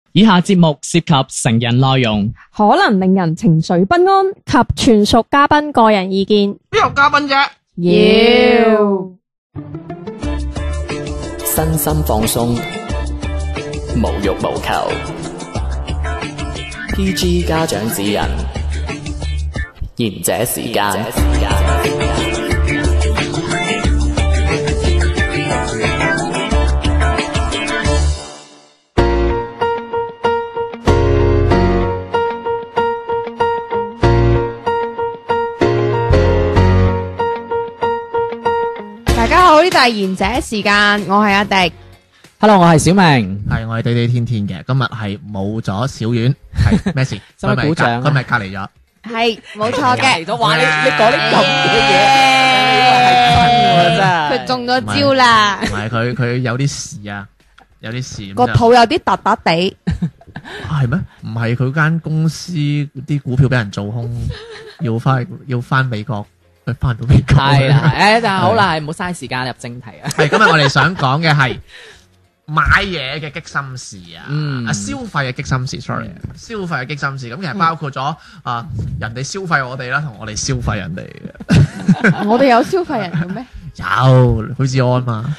以下節目涉及成人內容， 可能令人情緒不安及全屬嘉賓個人意見。 邊有嘉賓啫？ 妖身心放鬆，無欲無求。PG 家長指引，賢者時間。 大家好，呢度係賢者時間，我係阿迪。 Hello， 我係小明。 係我係地地天天嘅，今日係冇咗小丸，係咩事？ 使唔使鼓掌啊佢咪隔離咗？ 係冇錯嘅， 咗話你講啲咁嘅嘢，真係佢中咗招啦唔，係佢有啲事啊，有啲事個肚有啲突突地。 係咩？唔係佢間公司啲股票俾人做空，要翻美國，佢翻到美國。 係啦，但係好啦，係唔好嘥時間入正題啊。 係今日我哋想講嘅係買嘢嘅激心事啊，消費嘅激心事 ，sorry， 消費嘅激心事，咁其實包括咗人哋消費我哋啦，同我哋消費人哋嘅。 我哋有消費人嘅咩？ 有許志安嘛，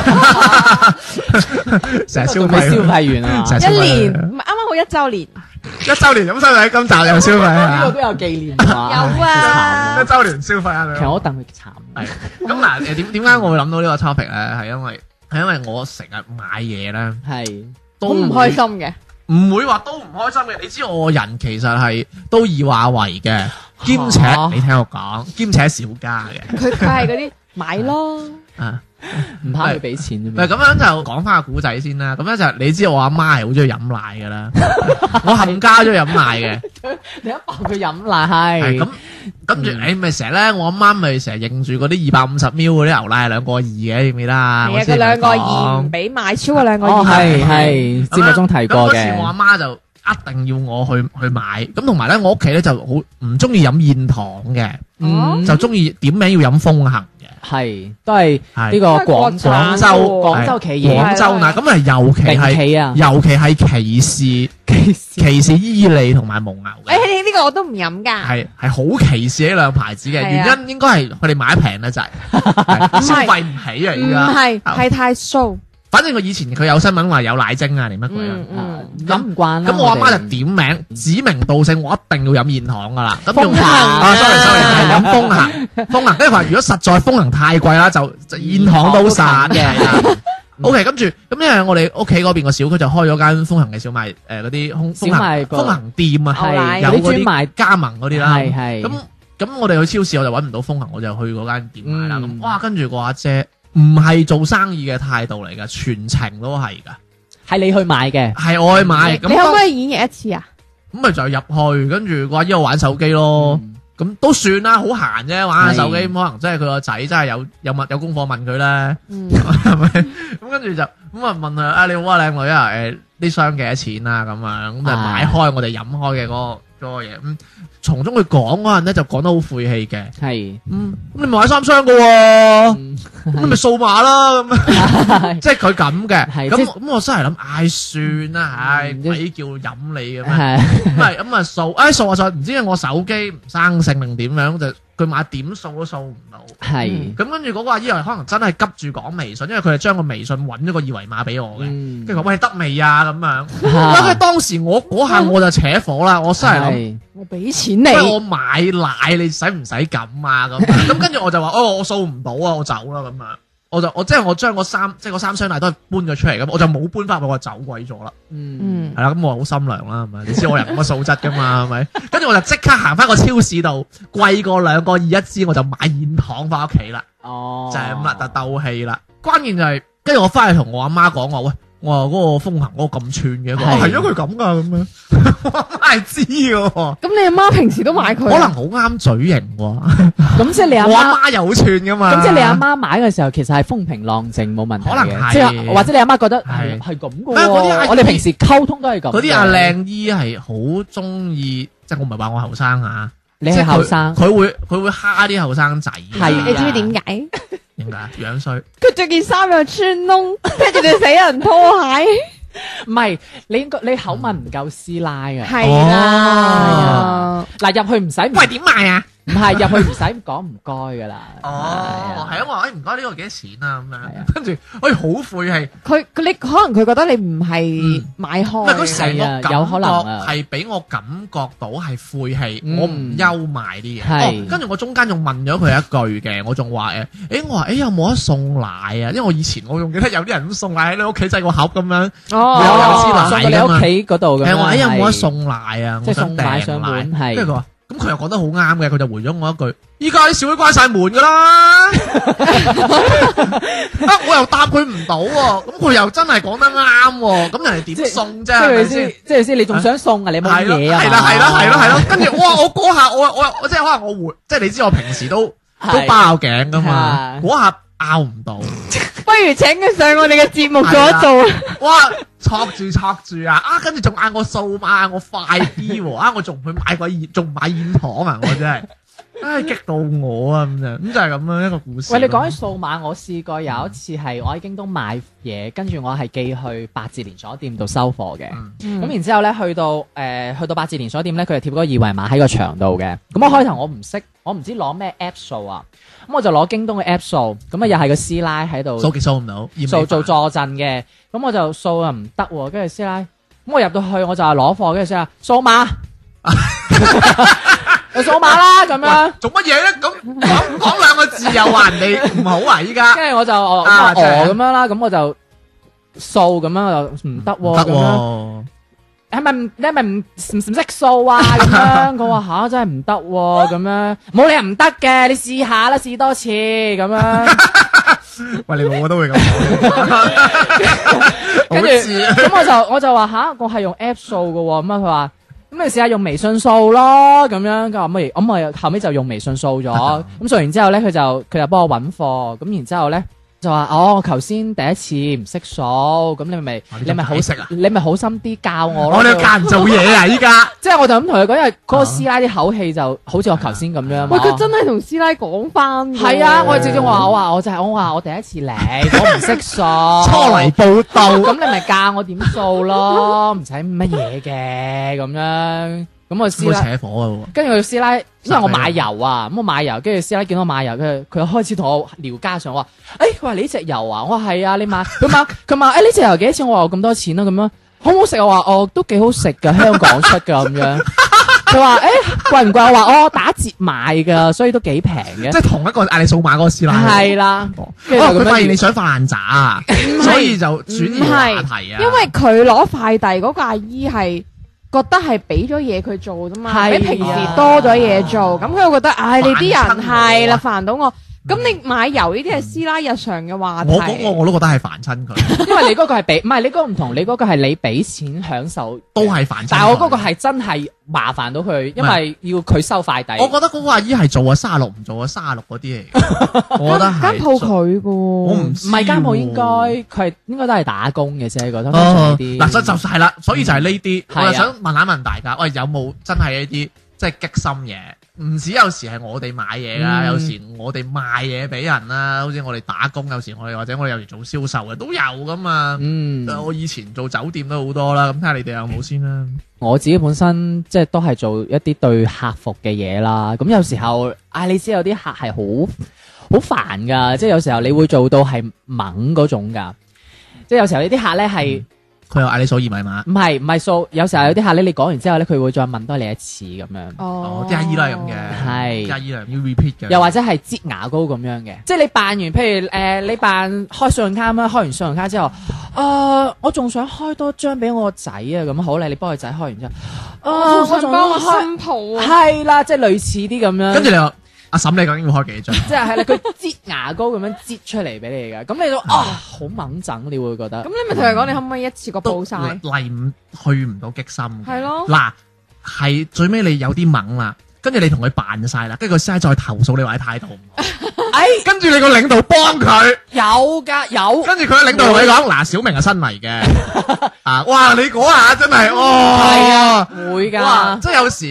成日消費消費完啊， 成日消費一年唔係啱啱好1週年， 1週年咁收睇今集有消費啊， 呢個都有紀念啊。 有啊 1週年消費啊， 其實我戥佢慘。 係咁嗱，點解我會諗到呢個 topic 咧？係因為我成日買嘢咧， 係好唔開心嘅。 唔會話都唔開心嘅。你知我人其實係都以話為嘅，兼且你聽我講，兼且小家嘅。 佢係嗰啲買咯， 啊， 唔怕佢俾錢啫唔係咁樣就講翻個古仔先啦。咁咧就你知我阿媽係好中意飲奶噶啦，我冚家中意飲奶嘅。 你一扮佢飲奶係咁，跟住你咪成日咧，我阿媽咪成日認住嗰啲250ml嗰啲牛奶係2個2嘅，記唔記得啊？ 係啊，佢2個2唔俾買，超過2個2。 哦，係節目中提過咁嗰嘅。 次我阿媽就一定要我去買，咁同埋咧我屋企咧就好唔中意飲現糖嘅，就中意點名要飲風行嘅。 係都係呢個廣州企業， 廣州奶咁啊，尤其係歧視伊利同埋蒙牛嘅。 呢個我都唔飲㗎。 係好歧視呢兩牌子嘅，原因應該係佢哋買得平得滯，消費唔起啊！而家係太騷。 反正佢以前佢有新聞話有奶精啊，定乜鬼啊？ 飲唔慣啦。 咁我阿媽就點名指名道姓，我一定要飲現糖噶啦。咁用風行 sorry，係飲風行。跟住話如果實在風行太貴啦，就現糖都散嘅。OK， 跟住咁因為我哋屋企嗰邊個小區就開咗間風行嘅小賣嗰啲風行店啊，有嗰啲賣加盟嗰啲啦。係咁我哋去超市我就揾唔到風行，我就去嗰間店買啦。咁哇，跟住個阿姐。唔係做生意嘅態度嚟噶，全程都係噶， 係你去買嘅， 係我去買。 你可唔可以演繹一次啊？ 咁咪就入去，跟住個阿姨玩手機咯。咁都算啦，好閒啫，玩下手機。可能真係佢個仔真係有功課問佢咧，係咪？咁跟住就咁啊問佢啊，你好啊，靚女啊，呢箱幾多錢啊？咁啊，咁就買開我哋飲開嘅嗰個嘢。咁從中佢講嗰陣咧，就講得好晦氣嘅。係，咁你買3箱嘅喎，咁你咪掃碼啦。咁即係佢咁嘅。咁我真係諗，唉，算啦，鬼叫飲你嘅咩？咁咪咁啊掃，掃下掃，唔知我手機唔生性定點樣，就佢買點掃都掃唔到。係，咁跟住嗰個阿姨可能真係急住講微信，因為佢係將個微信揾咗個二維碼俾我嘅。跟住話喂，得未啊？咁樣。因為當時我嗰下我就扯火啦，我真係諗。 我俾錢你， 我買奶你使唔使咁啊？咁跟住我就話我掃唔到啊，我走啦咁樣。我將嗰3箱奶都係搬咗出嚟咁，我就冇搬翻去，我走鬼咗啦。係啦，咁我好心良啦，係咪？你知我人咁嘅素質噶嘛，係咪？跟住我就即刻行翻個超市度，貴過2個2一支，我就買現糖翻屋企啦。就係咁啦，就鬥氣啦。關鍵就係，跟住我翻去同我阿媽講話，喂。我話嗰個風行嗰個咁串嘅，係啊，佢咁噶咁樣，我係知嘅。 咁你阿媽平時都買佢？ 可能好啱嘴型喎。 咁即係你阿媽， 我阿媽又好串噶嘛。咁即係你阿媽買嘅時候，其實係風平浪靜冇問題嘅。 可能係， 即係或者你阿媽覺得係咁嘅喎。我哋平時溝通都係咁。 嗰啲阿靚姨係好中意，即係我唔係話我後生啊。 你係後生， 佢會蝦啲後生仔。 係，你知唔知點解？ 點解？樣衰。 佢着件衫又穿窿，跟住對死人拖鞋。 唔係你口吻唔夠師奶啊。 係啦， 嗱入去唔使， 喂點賣啊？ 唔係入去唔使講唔該噶啦。 哦，係啊，我話唔該呢個幾多錢啊咁係啊樣，跟住好晦氣， 佢你可能佢覺得你唔係買唔開係佢成個係啊感有可能覺啊係俾我感覺到係晦氣， 嗯我唔憂賣啲嘢。 係跟住我中間仲問咗佢一句嘅，我仲話我話有冇得送奶啊？因為我以前我仲記得有啲人咁送奶喺你屋企製個盒咁樣。 哦， 有師奶送到你屋企嗰度咁樣。 係話有冇得係送奶啊？ 即係我想送奶上訂奶門係跟住佢話，咁佢又講得好啱嘅，佢就回咗我一句：依家啲小妹關晒門㗎啦。我又答佢唔到喎，咁佢又真係講得啱喎，咁人哋點送啫？係咪先？ 即係先，你仲想送啊？你冇係咯， 嘢啊？ 係咯，跟住哇！我嗰下我即係可能我回，即係你知我平時都包頸㗎嘛， 係嗰下拗唔到。 不如請佢上我哋嘅節目做一做啊！ 哇！戳住啊！跟住仲嗌我掃碼，嗌我快啲喎！我仲去買個燕，仲買燕糖啊！我真係，激到我啊！咁就係咁樣一個故事。 喂，你講起數碼，我試過有一次係我喺京東買嘢，跟住我係寄去八字連鎖店度收貨嘅。咁然之後咧，去到八字連鎖店咧，佢就貼嗰個二維碼喺個牆度嘅。咁我開頭我唔識，我唔知攞咩 app 掃啊，咁我就攞京東嘅 app 掃，咁啊又係個師奶喺度掃極掃唔到， 做助陣嘅，咁我就掃又唔得喎，跟住師奶，咁我入到去我就係攞貨，跟住師奶掃碼，就掃碼啦咁樣。 做乜嘢咧？咁講兩個字又話人哋唔好啊！依家跟住我就咁樣啦，咁我就掃咁樣，我就唔得喎，咁樣係咪唔識掃啊？咁樣佢話吓真係唔得喎，咁樣冇理由唔得嘅，你試下啦，試多次咁樣。 喂，你老我都會咁講， 跟住咁我就話吓，我係用 app 掃嘅喎，咁啊佢話。咁你試下用微信掃咯，咁樣佢話咁我後尾就用微信掃咗，咁掃完之後咧，佢就幫我揾貨，咁然之後咧就話我頭先第一次唔識掃，咁你咪好識啊？ 你咪好心啲教我咯。 我哋教人做嘢啊！依家即係我就咁同佢講，因為嗰個師奶啲口氣就好似我頭先咁樣。 喂，佢真係同師奶講翻。 係啊，我直接話我話我第一次嚟，我唔識掃， 初嚟報到， 咁你咪教我點掃咯，唔使乜嘢嘅咁樣。咁我師奶扯火嘅， 跟住佢師奶，因為我買油啊，咁我買油，跟住師奶見到我買油，佢開始同我聊家常，我話，佢話你呢隻油啊，我話係啊，你買，佢問，呢隻油幾多錢？我話咁多錢啦，咁樣好唔好食？我話都幾好食噶，香港出噶咁樣。佢話貴唔貴？我話打折買噶，所以都幾平嘅。 即係同一個嗌你掃碼嗰個師奶。 係啦， 佢發現你想發爛渣啊，所以就轉移話題啊。 因為佢攞快遞嗰個阿姨係。覺得係俾咗嘢佢做啫嘛，比平時多咗嘢做，咁佢又覺得，你啲人係啦煩到我，咁你買油呢啲係師奶日常嘅話題。 我都覺得係煩親佢， 因為你嗰個係俾，唔係你嗰個唔同，你嗰個係你俾錢享受， 都係煩親。 但係我嗰個係真係麻煩到佢，因為要佢收快遞。 我覺得嗰個阿姨係做啊36唔做啊36嗰啲嚟，我覺得係間鋪佢嘅， 我唔係間鋪應該佢應該都係打工嘅啫，覺得嗱就係啦，所以就係呢啲，我就想問大家，喂有冇真係一啲即係激心嘢？唔止有時係我哋買嘢啦，有時我哋賣嘢俾人啦，好似我哋打工，有時我哋或者我哋有時做銷售嘅都有噶嘛。我以前做酒店都好多啦，咁睇下你哋有冇先啦。 我自己本身即係都係做一啲對客服嘅嘢啦，咁有時候你知有啲客係好煩噶，即係有時候你會做到係猛嗰種噶，即係有時候呢啲客咧係。 佢又嗌你掃二維碼， 唔係掃，有時候有啲客咧，你講完之後咧，佢會再問多你一次咁樣。 啲阿姨都係咁嘅， 係啲阿姨係要 repeat 嘅。 又或者係擠牙膏咁樣嘅，即係你辦完，譬如你辦開信用卡啦，開完信用卡之後，我仲想開多張俾我個仔啊，咁好咧，你幫佢仔開完之後， 我仲幫我新抱啊， 係啦，即係類似啲咁樣。 跟住你話阿嬸，你究竟要開幾張？ 即係啦，佢擠牙膏咁樣擠出嚟俾你嘅，咁你都好猛整，你會覺得。 咁你咪同佢講，你可唔可以一次過報晒？ 去唔到激心。 係咯。嗱， 係最尾你有啲猛啦，跟住你同佢扮晒啦，跟住佢先再投訴你話你態度唔好。跟住你個領導幫佢。有噶有。跟住佢個領導同你講，嗱，小明係新嚟嘅。哇！你嗰下真係，係啊， 會噶。 即係有時。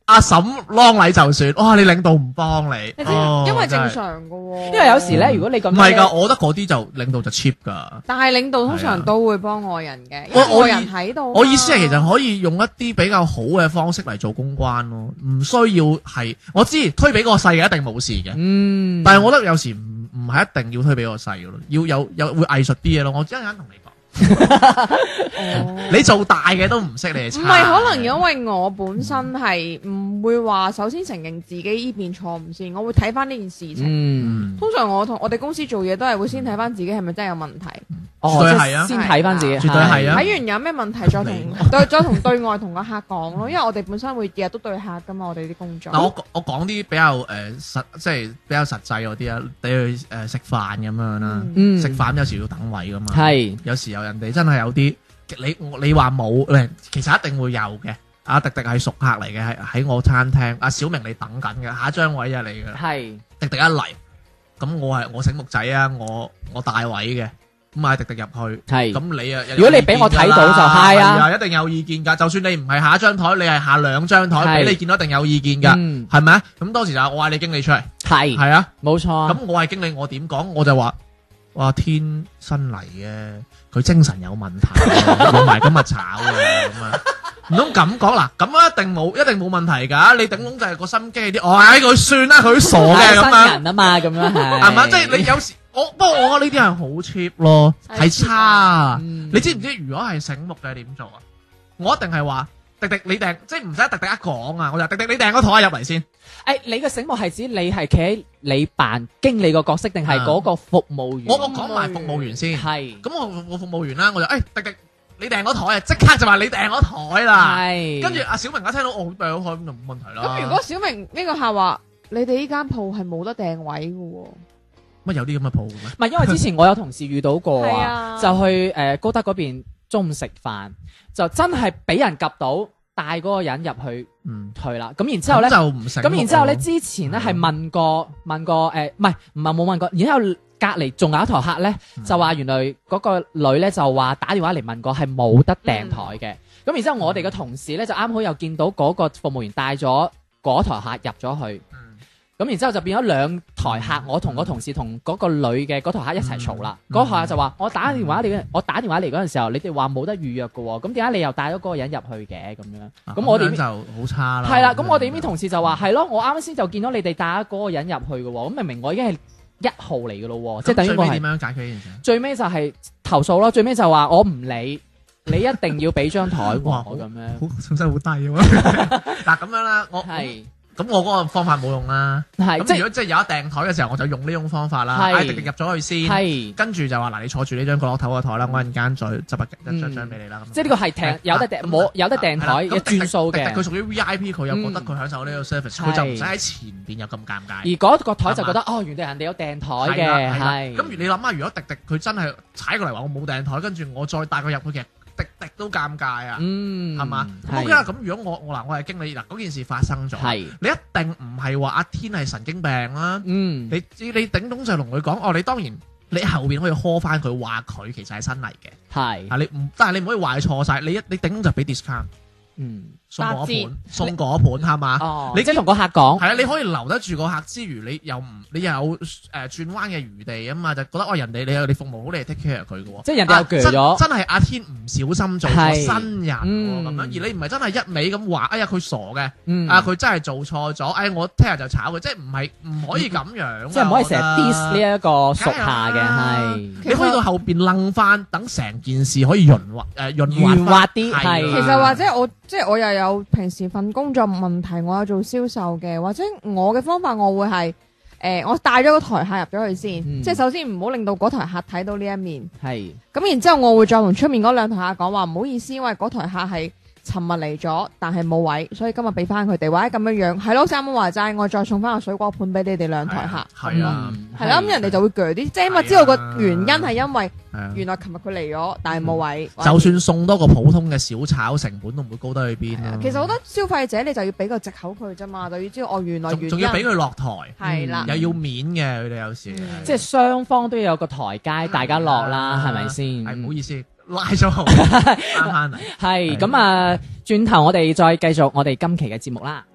阿嬸啷禮就算，哇！你領導唔幫你， 你知因為正常㗎喎。 因為有時咧，如果你咁唔係㗎，我覺得嗰啲就領導就 cheap 㗎。 但係領導通常都會幫外人嘅，因為外人喺度。 我意思係其實可以用一啲比較好嘅方式嚟做公關咯，唔需要係我知推俾個細嘅一定冇事嘅，但係我覺得有時唔係一定要推俾個細嘅咯，要有會藝術啲嘢咯。我一陣間同你講。你做大嘅都唔識，你係差。 唔係可能因為我本身係唔會話首先承認自己呢邊錯誤先，我會睇翻呢件事情。通常我同我哋公司做嘢都係會先睇翻自己係咪真係有問題。 絕對係啊， 先睇翻自己， 絕對係啊。 睇完有咩問題再同對外同個客講咯，因為我哋本身會日日都對客噶嘛，我哋啲工作。 嗱，我講啲比較即係比較實際嗰啲啊，你去食飯咁樣啦，食飯有時要等位噶嘛， 係有時候人哋真係有啲你話冇，其實一定會有嘅。阿迪迪係熟客嚟嘅，喺我餐廳。阿小明你等緊嘅，下一張位啊你嘅， 係迪迪一嚟，咁我醒目仔啊，我帶位嘅。咁嗌迪迪入去， 係咁你啊， 如果你俾我睇到就係啊， 一定有意見㗎。就算你唔係下一張台，你係下兩張台，俾你見到一定有意見㗎，係咪啊？咁當時就我嗌你經理出嚟，係啊， 冇錯。 咁我係經理，我點講？我就話：哇，天新嚟嘅，佢精神有問題，要埋今日炒嘅咁啊！唔通咁講嗱？咁一定冇問題㗎。你頂籠就係個心機啲，佢算啦，佢傻嘅咁樣。 新人啊嘛，咁樣係嘛？即係你有時。不過我覺得呢啲係好 cheap 咯，係差啊！你知唔知如果係醒目嘅點做啊？我一定係話迪迪你訂，即係唔使迪迪一講啊！我就迪迪你訂個台入嚟先。 你嘅醒目係指你係企喺你扮經理個角色，定係嗰個服務員？ 我講埋服務員先。 係。咁我服務員啦，我就迪迪你訂個台啊！即刻就話你訂個台啦。係。跟住阿小明一聽到我訂個台咁就冇問題啦。 咁如果小明呢個客話你哋呢間鋪係冇得訂位嘅喎？ 乜有啲咁嘅鋪咩？ 唔係，因為之前我有同事遇到過啊，就去高德嗰邊中午食飯，就真係俾人及到帶嗰個人入去去啦。咁然之後咧，咁然之後咧，之前咧係問過唔係冇問過，然之後隔離仲有一台客咧，就話原來嗰個女咧就話打電話嚟問過係冇得訂台嘅。咁然之後我哋嘅同事咧就啱好又見到嗰個服務員帶咗嗰台客入咗去。咁然之後就變咗兩台客，我同個同事同嗰個女嘅嗰台客一齊嘈啦。嗰台客就話：我打電話嚟嗰陣時候，你哋話冇得預約嘅喎，咁點解你又帶咗嗰個人入去嘅咁樣？咁我哋就好差啦。 係啦，咁我哋呢邊同事就話：係咯，我啱先就見到你哋帶咗嗰個人入去嘅喎，咁明明我已經係1號嚟嘅咯喎，即係等於我係。最尾點樣解決呢件事？最尾就係投訴咯，最尾就話我唔理，你一定要俾張台我咁樣。 信心好低喎。嗱咁樣啦，我係。咁我嗰個方法冇用啦，咁如果即係有一訂台嘅時候，我就用呢種方法啦，嗌迪迪入咗去先，跟住就話嗱，你坐住呢張角落頭個台啦，我陣間再執一張俾你啦。 即係呢個係訂有得訂冇有得訂台嘅轉數嘅。 佢屬於 VIP，佢又覺得佢享受呢個 service，佢就唔使喺前邊又咁尷尬。 而嗰個台就覺得原來人哋有訂台嘅，係。 咁你諗下，如果迪迪佢真係踩過嚟話我冇訂台，跟住我再帶佢入去嘅。滴滴都尷尬啊，係嘛？OK啦，咁如果我係經理嗱，嗰件事發生咗，你一定唔係話阿天係神經病啦，你頂多就同佢講，你當然你後邊可以呵翻佢，話佢其實係新嚟嘅，係啊，但係你唔可以話佢錯晒，你頂多就俾 discount。送嗰盤係嘛？你即係同個客講，係啊，你可以留得住個客之餘，你又有轉彎嘅餘地啊嘛，就覺得人哋你服務好，你係 take care 佢嘅喎。即係人哋又鋸咗，真係阿天唔小心做錯新人咁樣，而你唔係真係一味咁話，哎呀佢傻嘅，佢真係做錯咗，我聽日就炒佢，即係唔可以咁樣，即係唔可以成日 diss 呢一個屬下嘅，係你可以到後邊楞翻，等成件事可以潤滑啲。 其實或者我又有平時份工作問題，我有做銷售嘅，或者我嘅方法我會係我帶咗個台客入咗去先，即係首先唔好令到嗰台客睇到呢一面，係咁然之後我會再同出面嗰兩台客講話唔好意思，因為嗰台客係尋日嚟咗，但係冇位，所以今日俾翻佢哋，或者咁樣樣係咯，啱啱話齋，我再送翻個水果盤俾你哋兩台客，係啊，係啦，咁人哋就會鋸啲，即係因為知道個原因係因為原來琴日佢嚟咗，但係冇位， 就算送多個普通嘅小炒，成本都唔會高得去邊啦。 其實我覺得消費者你就要俾個藉口佢啫嘛，就要知道原來原因， 仲要俾佢落台，係啦，又要面嘅佢哋有時， 即係雙方都要有個台階，大家落啦，係咪先？ 係唔好意思。拉咗翻嚟， 係咁啊！轉頭我哋再繼續我哋今期嘅節目啦。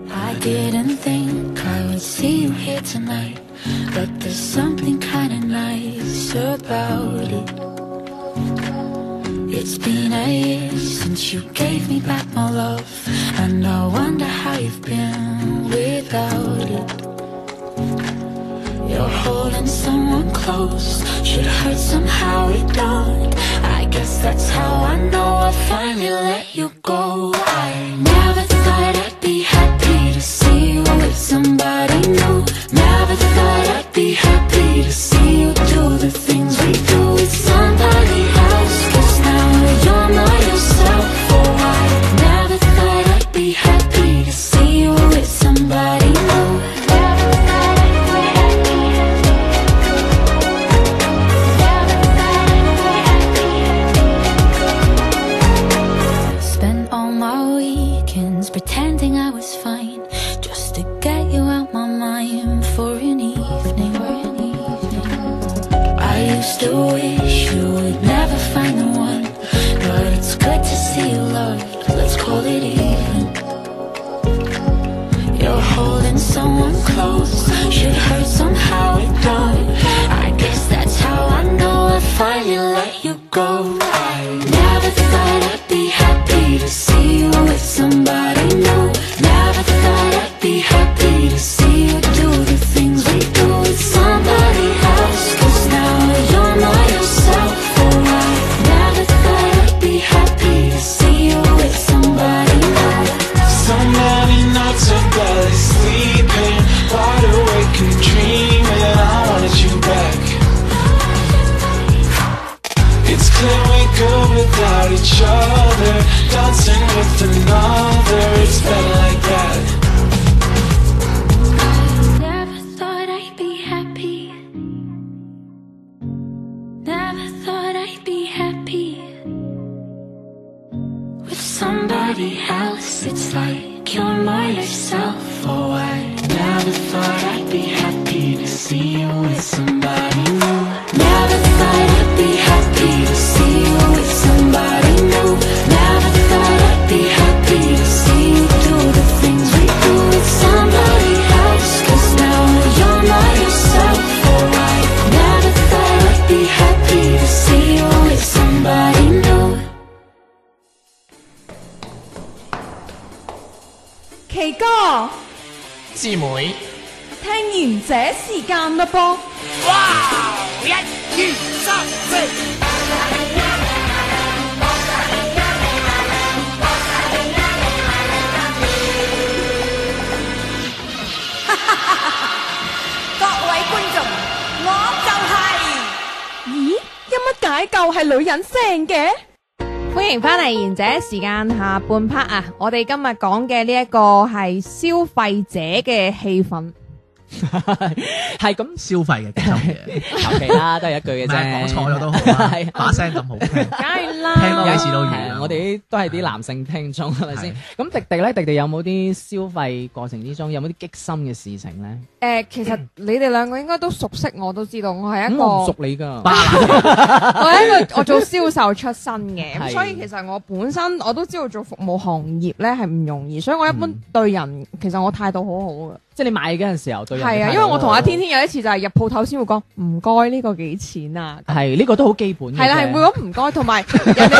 I didn't think I would see you here tonight, but there's something kinda nice about it. It's been a year since you gave me back my love, and I wonder how you've been without it. You're holding someone close, should hurt somehow it don't. I guess that's how I know I finally let you go. I never thought I'd be happy to see you with somebody new. Never thought I'd be happy to see you do the things we do with somebody else. 'Cause now you're not yourself. Oh, I never thought I'd be happy to see you with somebody new. Never thought I'd be happy. Never thought I'd be happy. Spent all my weekends pretending I was fine, just to get you out my mind for an evening. I used to wish you would never find the one, but it's good to see you loved, let's call it even. You're holding someone close, should hurt somehow it don't. I guess that's how I know I finally let you go. I never thought I'd be happy to see you with somebody new. Never thought I'd be happy to see you do the things we do with somebody else. 'Cause now you're not yourself. Oh, I never thought I'd be happy to see you with somebody new. So many nights of barely sleeping, wide awake and dreaming. I wanted you back. It's clear we're good without each other, dancing with another. It's better like that. Never thought I'd be happy. Never thought I'd be happy with somebody else. It's like you're not yourself. Oh, I never thought I'd be happy to see you with somebody new. Never thought I'd be happy to see you with somebody new. Never thought I'd be happy to see you do the things we do with somebody else. 'Cause now you're not yourself. Oh, I never thought I'd be happy to see you with somebody new. 奇哥， 師妹， 聽完這時間嘞噃。 各位觀眾，我就係。 咦，有乜解救係女人聲嘅？歡迎翻嚟賢者時間下半 part 啊！我哋今日講嘅呢一個係消費者嘅氣氛。 係咁消費嘅其中嘢， 求其啦，都係一句嘅唔啫。 係講錯咗都好啦，把聲咁好聽， 梗係啦， 聽多幾次都完啦。 我哋都係啲男性聽眾，係咪先？咁迪迪咧，迪迪有冇啲消費過程之中有冇啲激心嘅事情咧？ 其實你哋兩個應該都熟悉，我都知道我係一個我唔熟你㗎， 我係一個我做銷售出身嘅，咁係所以其實我本身我都知道做服務行業咧係唔容易，所以我一般對人其實我態度好好嘅。 即係你買嗰陣時候對人係啊，因為我同阿天天有一次就係入鋪頭先會講唔該呢個幾錢啊， 係呢個都好基本嘅啫。 係啦，係會講唔該，同埋人哋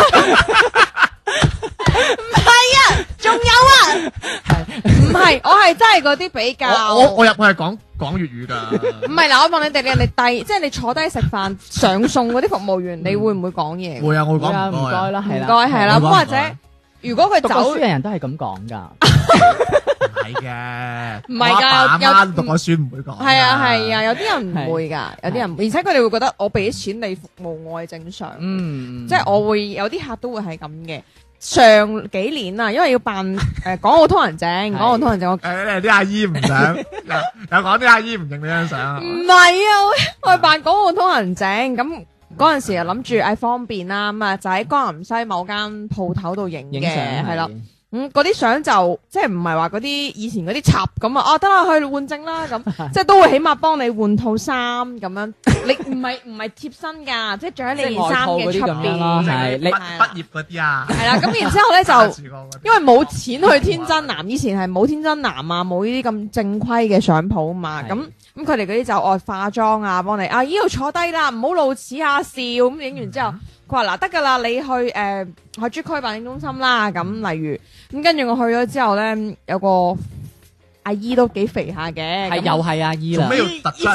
唔係啊，仲有啊，唔係我係真係嗰啲比較， 我入去係講粵語㗎。 唔係嗱，我問你哋，你遞即係你坐低食飯上餸嗰啲服務員，你會唔會講嘢？ 會啊，我會會啊， 講唔該啦，係啦， 唔該係啦，咁或者如果佢讀過走書嘅人都係咁講㗎。 唔係嘅， 唔係㗎我阿爸有阿媽讀過書唔會講。 係啊係啊，有啲人唔會㗎，有啲人，而且佢哋會覺得我俾錢你服務我係正常，即係我會有啲客都會係咁嘅。上幾年啊，因為要辦港澳通行證，港澳通行證我誒啲阿姨唔想，有講啲阿姨唔認你張相啊。 唔係啊，我去辦港澳通行證，咁嗰陣時又諗住方便啦，咁啊就喺江南西某間鋪頭度影影相嘅，係啦。 嗰啲相就即係唔係話嗰啲以前嗰啲插咁啊，得啦去換證啦咁，即係都會起碼幫你換套衫咁樣，你唔係貼身㗎，即係着喺你件衫嘅出邊， 係你畢業嗰啲啊， 係啦，咁然之後咧就因為冇錢去天真男，以前係冇天真男啊，冇呢啲咁正規嘅相鋪啊嘛，咁佢哋嗰啲就化妝啊，幫你啊依度坐低啦，唔好露齒啊笑，咁影完之後。佢話嗱得㗎啦，你去珠區辦證中心啦，咁例如咁跟住我去咗之後咧，有個阿姨都幾肥下嘅， 係又係阿姨啦， 做咩要突出？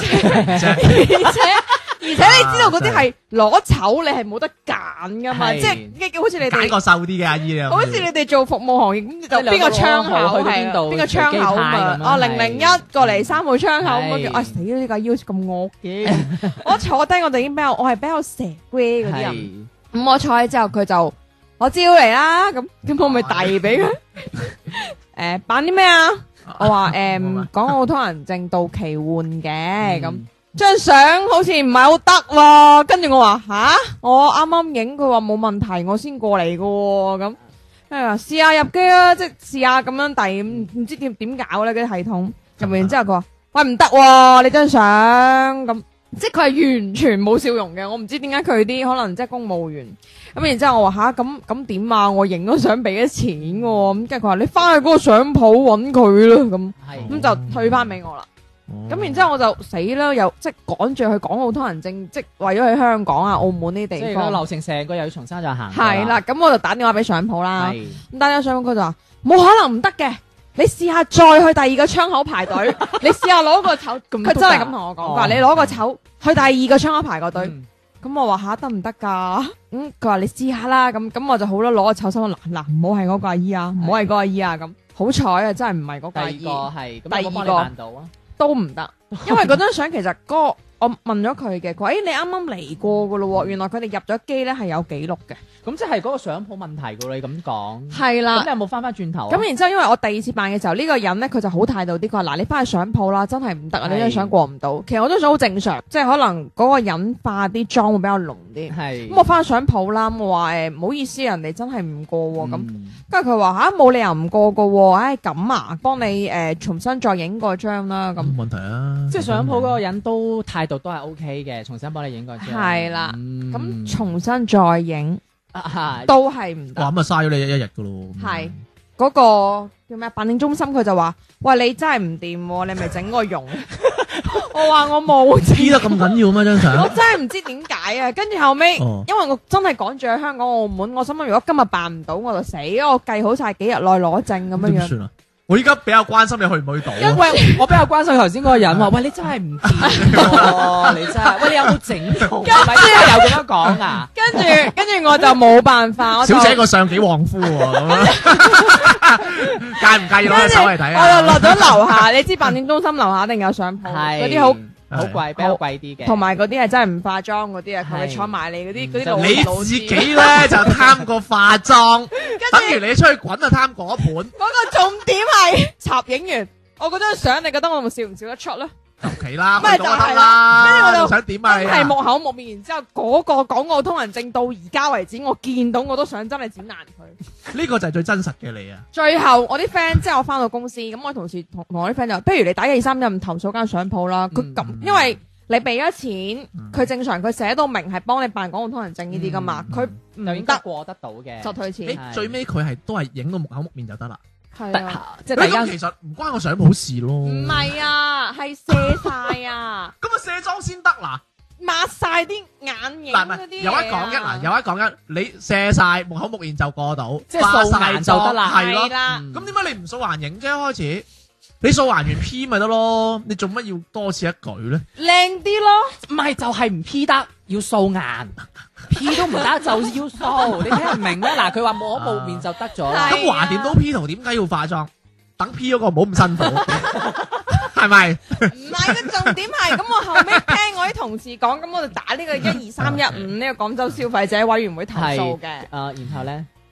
而且你知道嗰啲係攞籌，你係冇得揀㗎嘛，即係好似你哋揀個瘦啲嘅阿姨啊， 好似你哋做服務行業咁，就邊個窗口去邊度？邊個窗口啊？哦001過嚟3號窗口，跟住死啦！呢個腰咁惡嘅，我坐低我就已經我係比較蛇龜嗰啲人。咁我坐喺之後，佢就我招嚟啦，咁我咪遞俾佢。辦啲咩啊？我話港澳通行證到期換嘅，咁張相好似唔係好得喎。跟住我話吓，我啱啱影，佢話冇問題，我先過嚟嘅喎。咁試下入機啦，即係試下咁樣遞，唔知點搞咧嗰啲系統。入完之後佢話喂唔得喎，你張相咁。即係佢係完全冇笑容嘅，我唔知點解佢啲可能即係公務員咁，然之後我話吓咁點啊？我影咗相俾咗錢嘅，咁跟住佢話你翻去嗰個相鋪揾佢啦，咁就退翻俾我啦。咁然之後我就死啦，又即係趕住去港澳通行證，即係為咗去香港啊、澳門呢啲地方， 即係個流程成個又要重新再行。 係啦，咁我就打電話俾相鋪啦，咁打電話相鋪佢就話冇可能唔得嘅。你試下再去第二個窗口排隊，你試下攞個籌，佢真係咁同我講，話你攞個籌去第二個窗口排個隊。咁我話吓得唔得噶？佢話你試下啦。咁我就好啦，攞個籌心嗱，唔好係嗰個阿姨啊，唔好係嗰個阿姨啊。咁好彩啊，真係唔係嗰個阿姨。 第二個係， 第二個辦到啊， 都唔得，因為嗰張相其實嗰個我問咗佢嘅，佢話你啱啱嚟過噶咯，原來佢哋入咗機咧係有記錄嘅。咁即係嗰個相鋪問題噶，你咁講係啦。咁你有冇翻轉頭？ 咁然之後，因為我第二次辦嘅時候，呢個人咧佢就好態度啲，佢話嗱，你翻去相鋪啦，真係唔得啊！你張相過唔到。其實我張相好正常，即係可能嗰個人化啲妝會比較濃啲。係。咁我翻去相鋪啦，我話唔好意思，人哋真係唔過喎。咁跟住佢話吓冇理由唔過噶喎，唉咁啊，幫你重新再影過張啦。咁冇問題啊。 即係相鋪嗰個人都態度都係 OK 嘅，重新幫你影過張。 係啦。咁重新再影。都係唔得。 哇，咁啊嘥咗你一日噶咯。 係嗰個叫咩辦證中心，佢就話：喂，你真係唔掂，你咪整個容。我話我冇。 P 得咁緊要咩張相？ 我真係唔知點解啊！跟住後尾，因為我真係趕住去香港、澳門，我心諗如果今日辦唔到，我就死。我計好晒幾日內攞證咁樣樣。 點算啊？我依家比較關心你去唔去到。 因為我比較關心頭先嗰個人話：喂，你真係唔掂，你真係，喂，你有冇整到？係咪真係有咁樣講啊？ 跟住我就冇辦法。 小姐個相幾旺夫喎，咁樣介唔介意攞隻手嚟睇啊？ 我就落咗樓下，你知辦證中心樓下一定有相鋪，嗰啲好貴，比較貴啲嘅。 同埋嗰啲係真係唔化妝嗰啲啊，佢坐埋你嗰啲老你自己咧就貪個化妝，等於你出去滾就貪嗰盤。 嗰個重點係插影完，我嗰張相你覺得我咪笑唔笑得出咧？ 求其啦，咪就係啦。跟住我就想點啊？ 係木口木面，然之後嗰個港澳通行證到而家為止，我見到我都想真係剪爛佢。 呢個就係最真實嘅你啊！ 最後我啲 friend 即係我翻到公司，咁我同事同我啲 friend 就，不如你打123投訴間相鋪啦。佢咁，因為你俾咗錢，佢正常佢寫到明係幫你辦港澳通行證呢啲噶嘛，佢唔得過得到嘅， 就退錢。 最尾佢係都係影到木口木面就得啦。 係啊， 即係大家其實唔關個相鋪事咯。 唔係啊，係卸晒啊。 咁啊卸妝先得嗱， 抹晒啲眼影嗰啲嘢。 有一講一嗱，有一講一，你卸晒木口木面就過到， 即係掃顏就得啦。 係咯，咁點解你唔掃顏影啫？開始你掃顏完 P 咪得咯，你做乜要多此一舉咧？ 靚啲咯， 唔係就係唔 P 得，要掃顏。P 都唔得就要掃，你聽唔明咩？嗱，佢話冇可冇面就得咗啦。 咁橫掂都 P 圖，點解要化妝？等 P 嗰個唔好咁辛苦，係咪？ 唔係個重點係，咁我後尾聽我啲同事講，咁我就打呢個12315呢個廣州消費者委員會投訴嘅。 然後咧。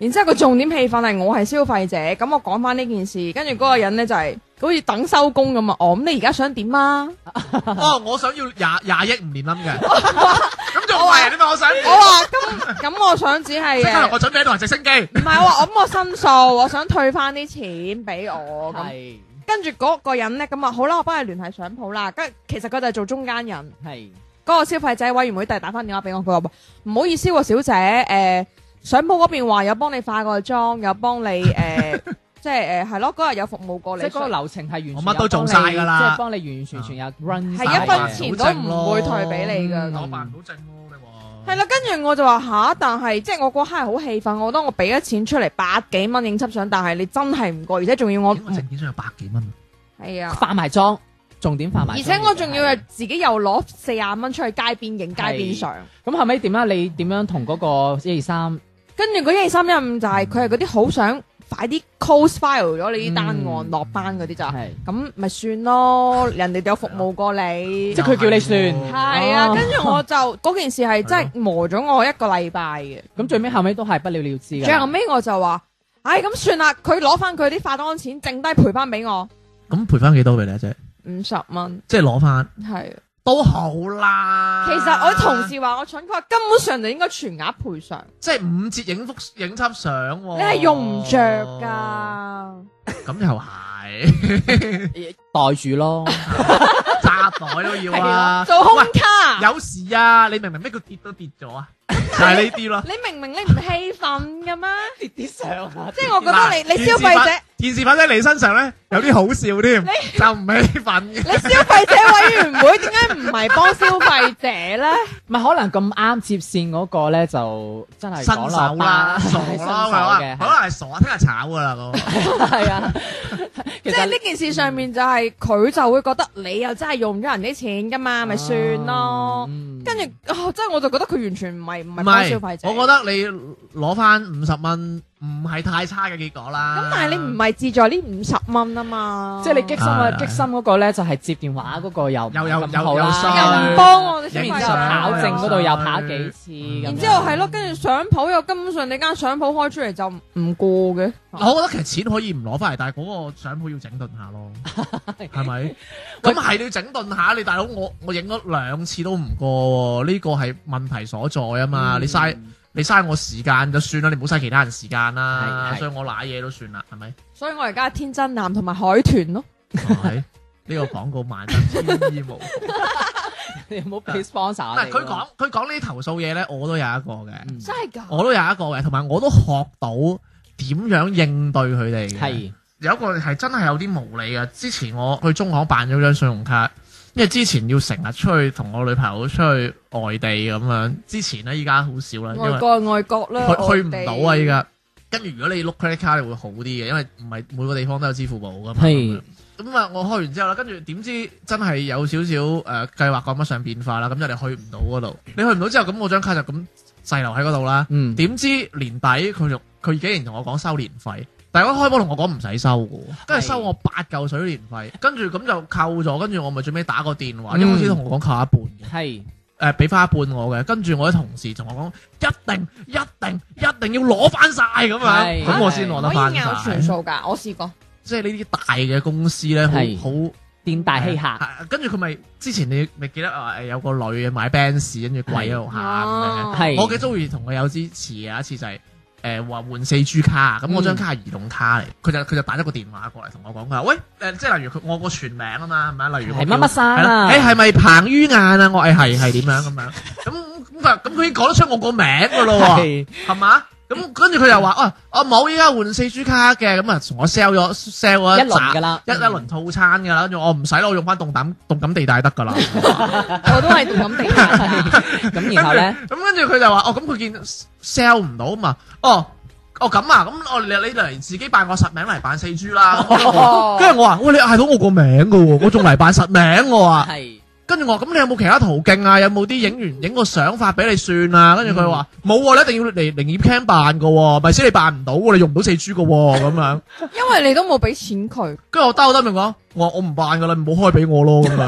然之後個重點氣氛係我係消費者，咁我講翻呢件事，跟住嗰個人咧就係好似等收工咁啊！哦，咁你而家想點啊？ 哦，我想要廿億唔連冧嘅，咁仲唔係你咪我想？ 我話咁我想只係即刻我準備喺度直升機。 唔係我話咁我申訴，我想退翻啲錢俾我咁。 係跟住嗰個人咧咁啊，好啦，我幫你聯繫相鋪啦。跟其實佢就係做中間人。 係嗰個消費者委員會第日打翻電話俾我，佢話唔好意思喎，小姐，相鋪嗰邊話有幫你化過妝，有幫你即係係咯，嗰日有服務過你， 即係嗰個流程係完全我乜都做晒㗎啦即係幫你完完全全有 run 係一分錢都唔會退俾你㗎。 我辦唔到證咯，你話係啦，跟住我就話吓，但係即係我嗰刻係好氣憤，我覺得我俾咗錢出嚟100幾蚊影輯相，但係你真係唔過，而且仲要我個證件上有100幾蚊。 係啊， 化埋妝，重點化埋妝。 而且我仲要係自己又攞40蚊出去街邊影街邊相。 咁後尾點啊？你點樣同嗰個123？ 跟住嗰12315就係佢係嗰啲好想快啲 close file 咗你啲單案落班嗰啲就係，咁咪算咯，人哋有服務過你， 即係佢叫你算。 係啊，跟住我就嗰件事係真係磨咗我1個禮拜嘅。 咁最尾後尾都係不了了之嘅。 最後尾我就話，唉，咁算啦，佢攞翻佢啲化妝錢，剩低賠翻俾我咁賠翻幾多俾你啊？姐 50蚊， 即係攞翻係都好啦。 其實我啲同事話我蠢，佢話根本上就應該全額賠償， 即係5折影輯相喎。 你係用唔着㗎。 咁又係袋住咯， 扎袋都要啊。 做空卡， 有時啊，你明明咩叫跌都跌咗啊？就係呢啲咯。 你明明你唔氣憤嘅咩？ 跌啲相啊！ 即係我覺得你消費者。 件事發生喺你身上咧，有啲好笑添，就唔氣憤嘅。 你消費者委員會點解唔係幫消費者咧？ 唔係可能咁啱接線嗰個咧，就真係新手啦，傻係新手啦， 嘅， 可能係傻，聽日炒噶啦咁。 係啊。 即係呢件事上面就係佢就會覺得你又真係用咗人啲錢噶嘛，咪算咯。跟住即係我就覺得佢完全唔係幫消費者。 我覺得你攞翻50蚊唔係太差嘅結果啦。 咁但係你唔係志在呢50蚊啊嘛。 即係你激心啊！激心嗰個咧就係接電話嗰個又咁好啦， 又唔幫我哋消費者。 然之後考證嗰度又跑幾次， 然之後係咯，跟住相鋪又根本上你間相鋪開出嚟就唔過嘅。 我覺得其實錢可以唔攞翻嚟，但係嗰個相鋪要整頓下咯，係咪？咁係你要整頓下，你大佬我影咗2次都唔過，呢個係問題所在啊嘛！你嘥我時間就算啦，你唔好嘥其他人時間啦，所以我賴嘢都算啦，係咪？ 所以我而家天真男同埋海豚咯。 係呢個廣告萬真天衣無縫。 你有冇俾 sponsor？ 唔係佢講呢啲投訴嘢咧，我都有一個嘅， 真係㗎， 我都有一個嘅，同埋我都學到點樣應對佢哋嘅。 係有一個係真係有啲無理嘅。之前我去中行辦咗張信用卡，因為之前要成日出去同我女朋友出去外地咁樣。之前咧，依家好少啦，因為外國啦， 去唔到啊！依家跟住如果你碌 credit card 你會好啲嘅，因為唔係每個地方都有支付寶噶嘛。 係咁啊，我開完之後啦，跟住點知真係有少少計劃趕不上變化啦，咁就你去唔到嗰度。你去唔到之後，咁我張卡就咁滯留喺嗰度啦。點知年底佢竟然同我講收年費。但係我開波同我講唔使收嘅，跟住收我8嚿水年費，跟住咁就扣咗，跟住我咪最尾打個電話，一開始同我講扣一半嘅，係俾翻一半我嘅，跟住我啲同事同我講一定要攞翻晒咁樣，咁我先攞得翻晒。可以拗全數㗎，我試過。 即係呢啲大嘅公司咧，好店大欺客。 跟住佢咪之前你咪記得話有個女嘅買 Benz 跟住跪喺度喊嘅，我嘅遭遇同佢有啲似嘅，一次就係。話換4G 卡，咁我張卡係移動卡嚟，佢就打咗個電話過嚟同我講，佢話喂，即係例如我個全名啊嘛，係咪？例如係乜乜生啊？ 係咪彭于晏啊？我係點樣咁樣？咁佢已經講得出我個名噶咯喎，係嘛？咁跟住佢又話冇依家換4G 卡嘅，咁啊同我 sell 咗一輪噶啦， 一輪套餐噶啦，跟住我唔使啦，我用翻動感地帶得噶啦， 我都係動感地帶。 咁然後咧， 咁跟住佢就話咁佢見 sell 唔到嘛，咁啊，咁你嚟自己辦個實名嚟辦4G 啦，跟住我話喂，你嗌到我個名噶喎，我仲嚟辦實名我話。跟住我咁你有冇其他途徑啊？有冇啲影個相發俾你算啊？跟住佢話冇，你一定要嚟營業 cam 辦噶，咪先你辦唔到，你用唔到4G 噶咁樣。 因為你都冇俾錢佢。 跟住我兜明講，我唔辦噶啦，唔好開俾我咯咁樣。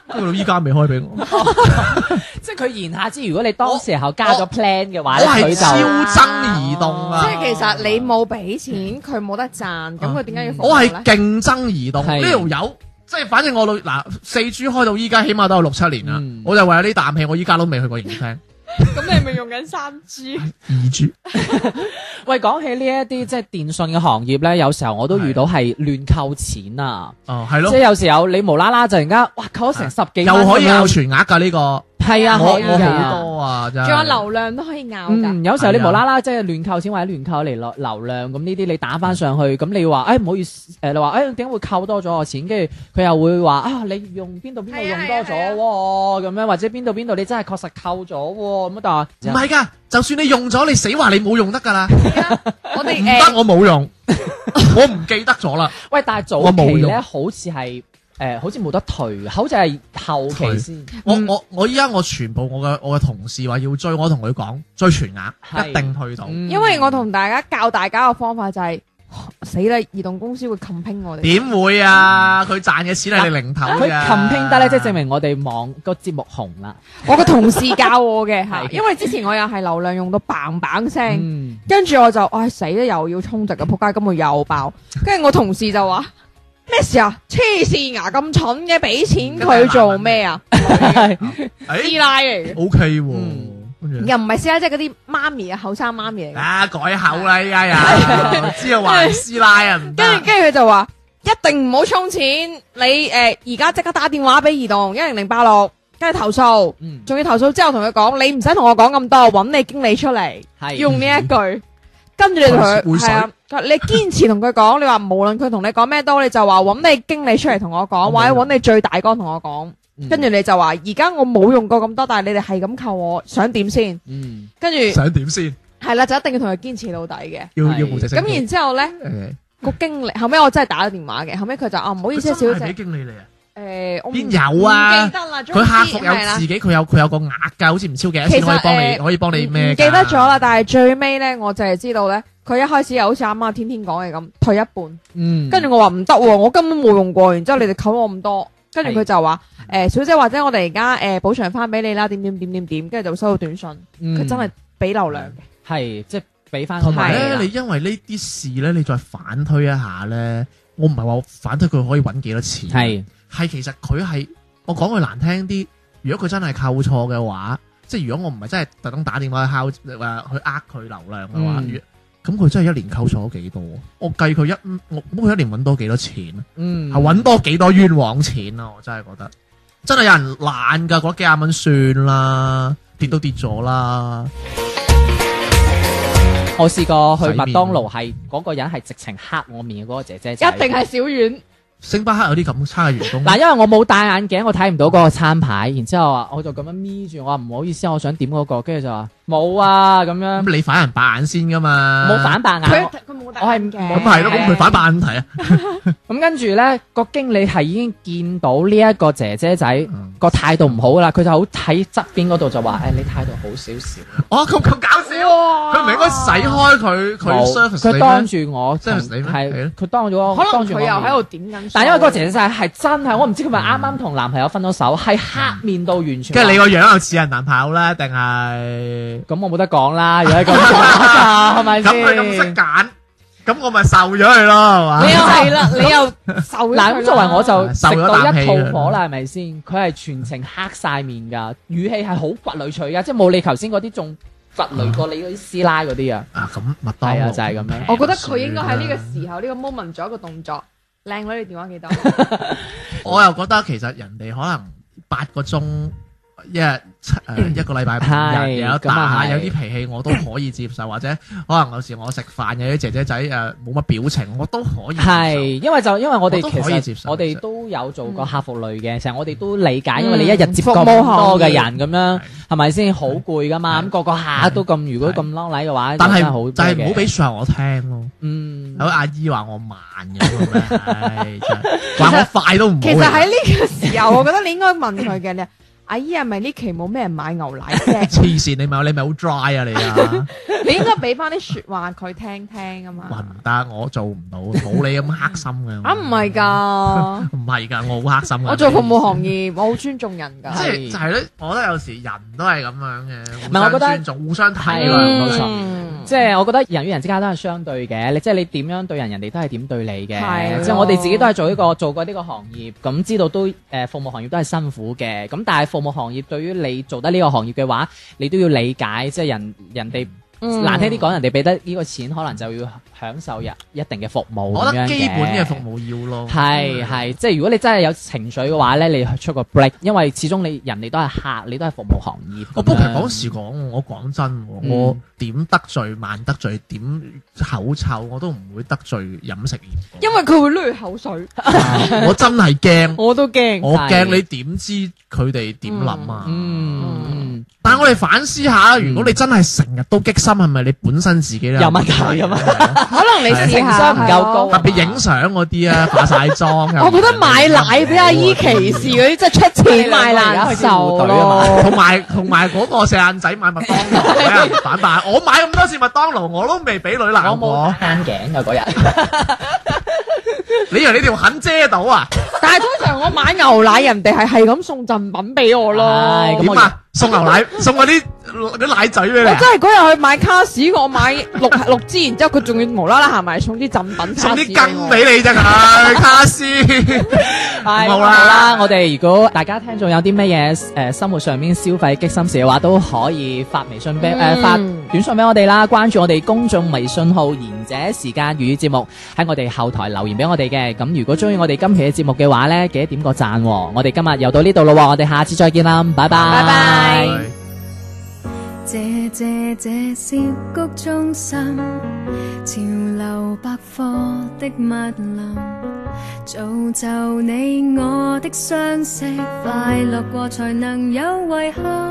跟住到依家未開俾我。 即係佢言下之，如果你當時候加咗 plan 嘅話咧， 我係佢就超憎移動啊！ 即係其實你冇俾錢，佢冇得賺，咁佢點解要服我係務咧？ 競爭移動係呢條友，即係反正我嗱4G 開到依家，起碼都有6-7年啦。 嗯我就為咗呢啖氣，我依家都未去過營廳。 咁你係咪用緊3G？ 2G 喂，講起呢一啲即係電信嘅行業咧，有時候我都遇到係亂扣錢啊！ 哦，係咯即係，有時候你無啦啦就突然間，哇扣咗成10幾蚊又可以咁樣拗全額㗎呢個。 係啊，可以我好㗎。 多啊，真係。 仲有流量都可以拗㗎。 有時候你係啊無啦啦即係亂扣錢或者亂扣嚟流量，咁呢啲你打翻上去，咁你話唔好意思，你話點解會扣多咗我錢？跟住佢又會話啊，你用邊度用多咗喎，咁樣或者邊度你真係確實扣咗喎，咁但係唔係㗎，就算你用咗，你死話你冇用得㗎啦。 我哋唔得，我冇用，我唔記得咗啦。 喂，但係早我冇用期咧好似係好似冇得退嘅，好似係後期先。 我依家我全部我嘅同事話要追，我同佢講追全額， 係一定退到。 因為我同大家教大家嘅方法就係死啦！移動公司會冚拼我哋。 點會啊？佢賺嘅錢係你零頭佢嘅。 冚拼得咧，即係證明我哋網個節目紅啦。 我個同事教我嘅嚇， 係因為之前我又係流量用到砰砰聲， 嗯， 跟住我就唉死啦，又要充值嘅仆街，咁我又爆。跟住我同事就話咩事啊？黐線啊！咁蠢嘅，俾錢佢做咩啊？師誒奶嚟嘅， ，OK 喎，跟住又唔係師奶，即係嗰啲媽咪啊，後生媽咪嚟嘅。 啊改口啦，依家又知道話係師奶啊，唔得。 跟住佢就話一定唔好充錢，你而家即刻打電話俾移動10086，跟住投訴， 嗯仲要投訴之後同佢講，你唔使同我講咁多，揾你經理出嚟， 係用呢一句，跟住你同佢會水係啊，你堅持同佢講，你話無論佢同你講咩都，你就話揾你經理出嚟同我講，或者揾你最大哥同我講，跟住你就話而家我冇用過咁多，但係你哋係咁扣我，想點先？ 嗯跟住想點先？ 係啦，就一定要同佢堅持到底嘅。 係要部直升機。 咁然之後咧， 誒個經理後尾我真係打咗電話嘅，後尾佢就唔好意思啊，小姐佢真係俾。經理你啊？ 我唔邊有啊唔記得啦， 佢客服有係啦自己，佢有個額㗎，好似唔超幾多錢其實可以幫你， 誒可以幫你咩㗎？ 唔記得咗啦，但係最尾咧，我就係知道咧，佢一開始又好似啱啱天天講嘅咁，退一半， 嗯， 跟住我話唔得喎，我根本冇用過，然之後你哋扣我咁多，跟住佢就話小姐或者我哋而家補償翻俾你啦，點，跟住就收到短信，佢真係俾流量嘅， 係即係俾翻個同埋咧， 係啦你因為呢啲事咧，你再反推一下咧，我唔係話反推佢可以揾幾多錢，係其實佢係我講句難聽啲，如果佢真係扣錯嘅話，即係如果我唔係真係特登打電話去敲去呃佢流量嘅話，咁佢真係一年扣錯咗幾多？我計佢佢一年揾多幾多錢啊？係揾多幾多冤枉錢啊！我真係覺得真係有人懶㗎，覺得幾廿蚊算啦，跌都跌咗啦。 我試過去麥當勞，係嗰個人係直情黑我面嘅嗰個姐姐仔， 一定係小丸。 星巴克有啲咁差嘅員工。 嗱，因為我冇戴眼鏡，我睇唔到嗰個餐牌，然之後啊我就咁樣眯住，我話唔好意思，我想點嗰個，跟住就話冇啊咁樣， 咁你反人白眼先噶嘛？ 冇反白眼， 佢冇戴我係眼鏡咁係咯，咁佢反白眼睇啊？ 咁跟住咧個經理係已經見到呢一個姐姐仔個態度唔好啦，佢就好喺側邊嗰度就話：你態度好少少。 哦，咁搞笑！佢唔係應該洗開佢 service 佢當住我 service 你咩？ 係佢當咗我， 可能當住我佢又喺度面點緊。 但因為嗰個姐姐仔係真係，我唔知佢咪啱啱同男朋友分咗手，係黑面到完全。 跟住你個樣又似人男朋友咧，定係？ 咁我冇得講啦，如果咁係咪先？ 咁佢咁識揀，咁我咪受咗佢咯，係嘛？ 你又係啦，你又受咗佢啦嗱，咁作為我就食受咗到一啖氣肚火啦，係咪先？佢係全程黑晒面㗎，語氣係好掘雷脆㗎，即係冇你頭先嗰啲仲掘雷過你嗰啲師奶嗰啲啊。 啊，咁麥當係啊勞就係咁樣我覺得佢應該喺呢個時候呢個 moment 做一個動作，靚女你電話幾多？ 我又覺得其實人哋可能8個鐘一個禮拜5日有得咁啊打， 係有啲脾氣我都可以接受，或者可能有時我食飯有啲姐姐仔冇乜表情，我都可以接受。 係，因為我哋我都可以接受其實我哋都有做過客服類嘅，成日我哋都理解，因為你一日接咁服務行多嘅業人咁樣，係咪先好攰噶嘛？咁個個客都咁，如果咁孬禮嘅話， 但係真係好就係唔好俾嘅說話我聽咯。有阿姨話我慢嘅，唉真係話我快都唔好。 其實喺呢個時候，我覺得你應該問佢嘅，你阿姨係咪呢期冇咩人買牛奶啫？ 黐線，你咪好 dry 啊你啊！ 你應該俾翻啲説話佢聽聽啊嘛。 哇唔得，我做唔到，冇你咁黑心嘅。 啊唔係㗎， 唔係㗎，我好黑心㗎。 我做服務行業，我好尊重人㗎。 即係就係咧，我覺得有時人都係咁樣嘅， 唔係我覺得互相尊重、互相體係諒。 冇錯。即係我覺得人與人之間都係相對嘅，你即係你點樣對人，人哋都係點對你嘅。 係即係我哋自己都係做過呢個行業，咁知道都服務行業都係辛苦嘅。咁但係服務行業對於你做得呢個行業嘅話，你都要理解，即係人哋。難聽啲講，人哋俾得呢個錢，可能就要享受一定嘅服務。 我覺得基本嘅服務要咯。 係，即係如果你真係有情緒嘅話咧，你出個 break，因為始終人哋都係客，你都係服務行業。 我不過其實講時講，我講真，我點得罪慢得罪，點口臭我都唔會得罪飲食業。 因為佢會濺口水。 我真係驚， 我都驚。 我驚你點知佢哋點諗啊？但係我哋反思下，如果你真係成日都激心，係咪你本身自己咧有問題咁啊？ 可能你情商唔夠高， 特別影相嗰啲啊，化晒妝。 我覺得買奶俾阿姨歧視嗰啲，即係出錢買難受咯。 同埋嗰個四眼仔買麥當勞俾人反敗，我買咁多次麥當勞，我都未俾女鬧過。 我冇慳頸㗎嗰日。 你以為你條痕遮到啊？ 但係通常我買牛奶，人哋係咁送贈品俾我咯。 點啊？送牛奶，送嗰啲奶嘴俾你。 我真係嗰日去買卡士，我買六支，然之後佢仲要無啦啦行埋送啲贈品， 送啲羹俾你啫佢卡士。 好啦，我哋如果大家聽眾有啲乜嘢生活上面消費激心事嘅話，都可以發微信俾發短信俾我哋啦，關注我哋公眾微信號賢者時間粵語節目，喺我哋後台留言俾我哋嘅。咁如果中意我哋今期嘅節目嘅話呢，記得點個讚。我哋今日又到呢度咯，我哋下次再見啦，拜拜。 拜拜。 謝謝這小谷中心，潮流百貨的密林，造就你我的相識，快樂過才能有遺憾。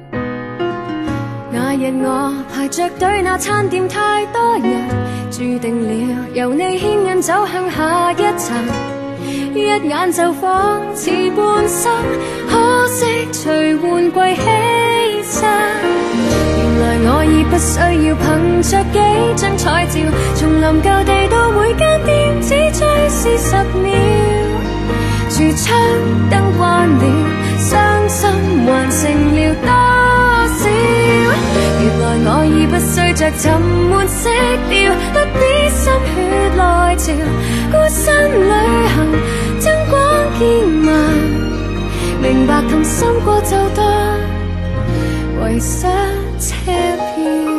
那日我排着隊，那餐店太多人，注定了由你牽引走向下一層，一眼就仿似半生，可惜隨換季犧牲。原來我已不需要憑着幾張彩照，從臨舊地到每間店只追視10秒，櫥窗燈關了，傷心還剩了多少？原來我已不需着沉悶色調，不必心血來潮，孤身旅行燈光見聞，明白同心過就得，為想車票。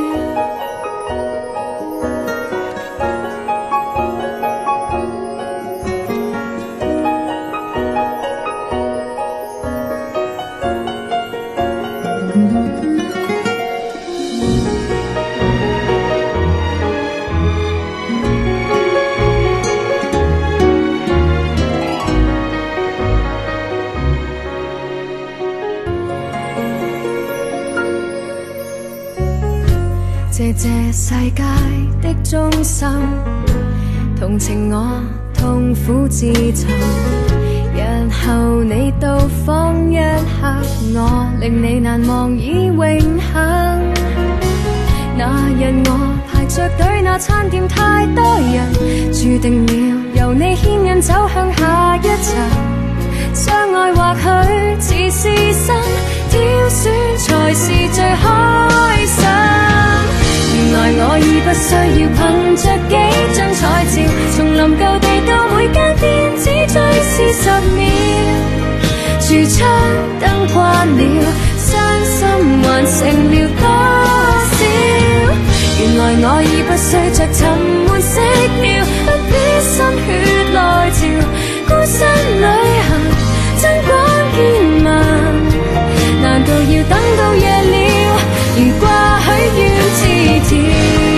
謝謝世界的中心，同情我痛苦自尋，日後你到訪一刻，我令你難忘已永恆。那日我排着隊，那餐店太多人，注定了由你牽引走向下一層，相愛或許似是新，挑選才是最開心。原來我已不需要憑着幾張彩照，從臨舊地到每間店只追視10秒，櫥窗燈關了，傷心還剩了多少？原來我已不需着沉悶色調，不必心血來潮，孤身旅行燈光見聞，難道要等到夜了，如掛許願字條？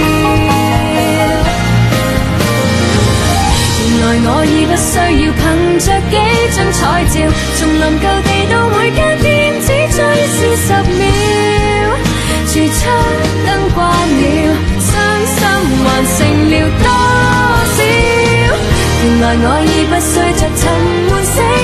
原來我已不需要憑着幾張彩照，從臨舊地到每間店只追視10秒，櫥窗燈關了，傷心還剩了多少？原來我已不需着沉悶色